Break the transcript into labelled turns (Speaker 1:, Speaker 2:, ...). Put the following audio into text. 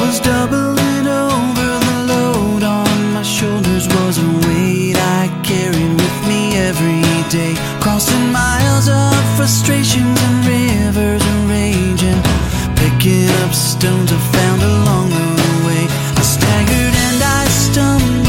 Speaker 1: was doubling over. The load on my shoulders was a weight I carried with me every day, crossing miles of frustrations and rivers of raging, picking up stones I found along the way. I staggered and I stumbled,